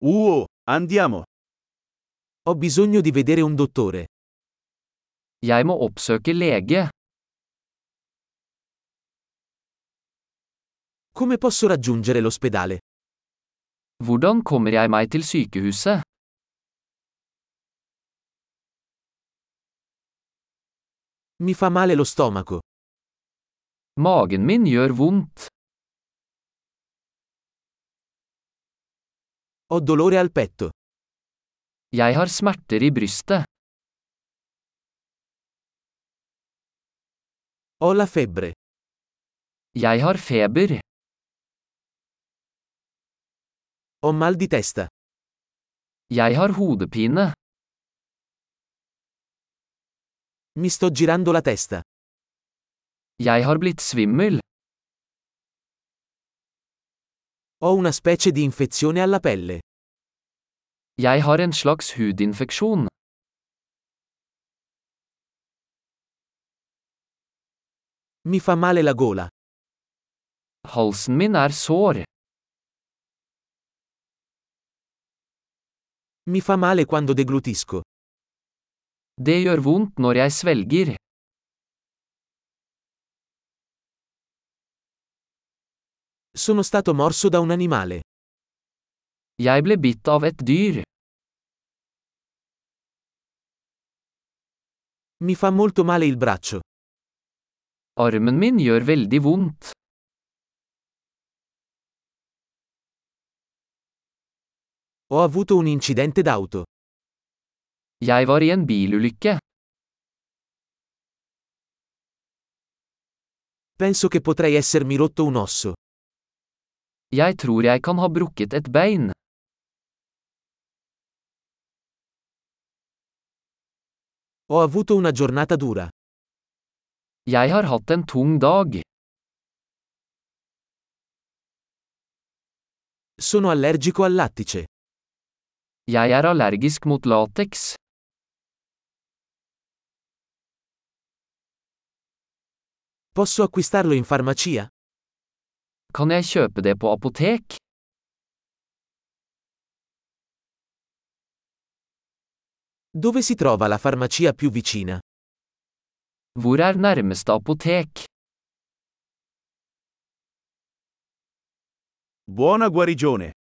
Andiamo. Ho bisogno di vedere un dottore. Jeg må oppsøke lege. Come posso raggiungere l'ospedale? Hvordan kommer jeg meg til sykehuset? Mi fa male lo stomaco. Magen min gjør vondt. Ho dolore al petto. Jeg har smerter i brystet. Ho la febbre. Jeg har feber. Ho mal di testa. Jeg har hodepine. Mi sto girando la testa. Jeg har blitt svimmel. Ho una specie di infezione alla pelle. Jeg har en slags hudinfeksjon. Mi fa male la gola. Halsen min er sår. Mi fa male quando deglutisco. Det gjør vondt når jeg svelger. Sono stato morso da un animale. Jeg ble bitt av et dyr. Mi fa molto male il braccio. Armen min gjør veldig vondt. Ho avuto un incidente d'auto. Jeg var i en bilulykke. Penso che potrei essermi rotto un osso. Jeg tror jeg kan ha brukket et bein. Ho avuto una giornata dura. Jeg har hatt en tung dag. Sono allergico al lattice. Jeg er allergisk mot lateks. Posso acquistarlo in farmacia? Kan jeg kjøpe det på apotek? Dove si trova la farmacia più vicina? Hvor er nærmeste apotek? Buona guarigione.